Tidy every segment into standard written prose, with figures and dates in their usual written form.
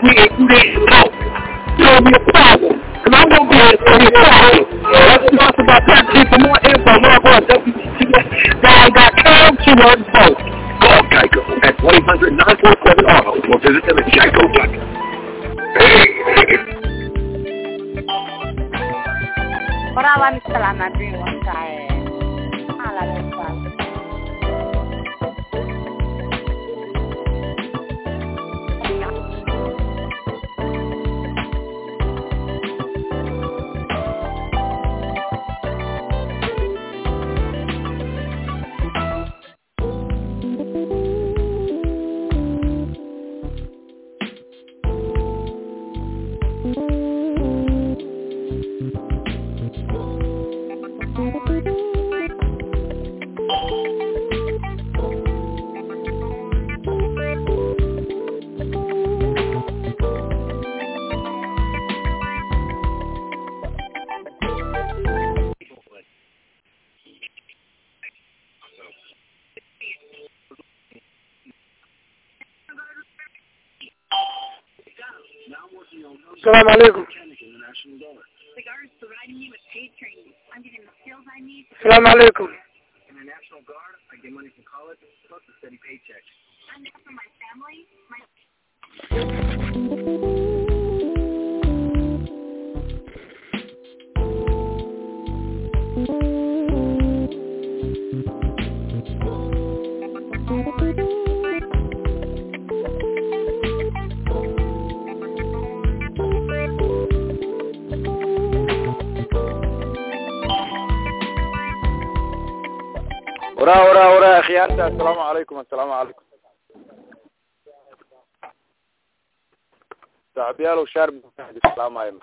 and you didn't know. It's gonna be a problem. And I'm gonna be a problem. Let's talk about that. For more info, log on www.got.com/vote. Call Geico at 1-800-947-AUTO or visit them at geico.com. Orang setelah Nabi Musa ala Musa. Assalamu alaikum. Assalamu alaikum. In the National Guard, I get money from college plus a steady paycheck. I'm there for my family. ورا خيارته. السلام عليكم. تعبيال وشرب السلام عليكم.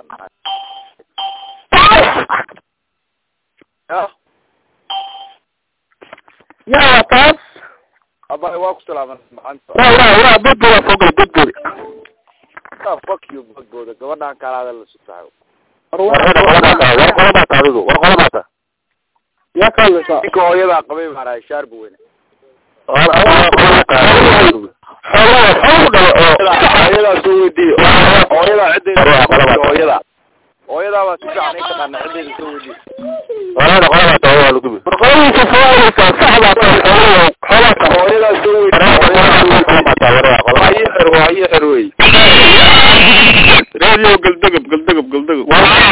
يا طاس أبا واقف سلام أنت. لا بدو فوق بدو. fuck you بدو. قولنا كان هذا اللي سبحانه. ورقة يا كله كويلا قبيل على شرب وين هذا سويدي هذا عدي هذا بس يعني كمان عدي سويدي هذا هو لكم برقم سفارك صعبة هذا سويدي هاي حروي راديو قلدق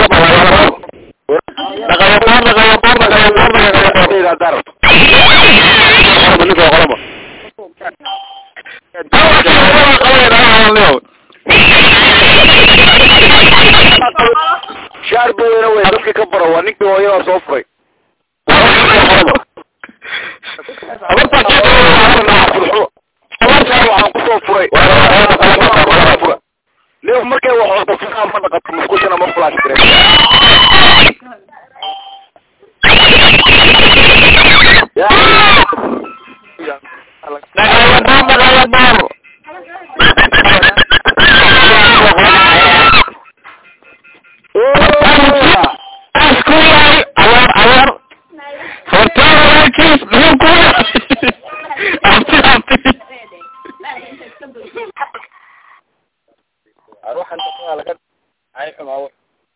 شارب وين dadka ka baro waa ninkii hooyada soo furay leo markay wax wada fiican ma dhaqato musqusha ma flash gareey اروح انت على كده عايش معاه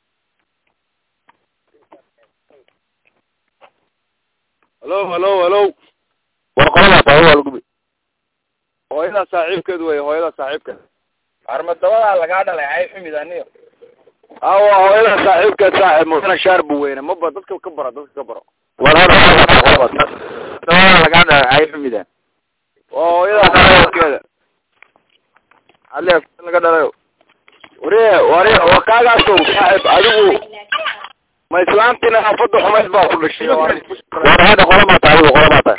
هلو ورقة طويلة لكم هooyada saaxiibkeedu way hooyada saaxiibka armadawada laga dhalay ay ximidaaniyo hooyada saaxiibkeed saaxiib muuna sharb weyn ma ba dadka ka baro walaal laga dhalay ay ximidaan hooyada saaxiibkeeda alle laga dhalay waree wakaaga soo saaxiib adigu ma islaantina afadu xumayd baa ku dhashay warada qolama tahay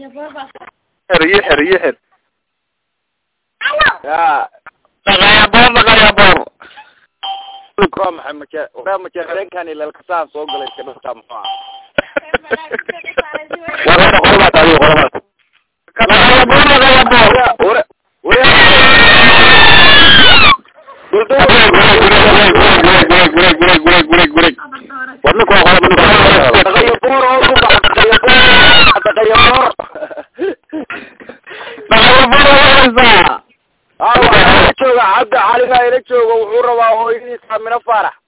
xir يا غيابور كم محمد ورا مكان كان إلى الكسان صوب قال كده سامع ورا قربات عليه قربات غيابور cabdi cali baa ila jooga wuxuu rabaa hooyadiisa Amina Faarax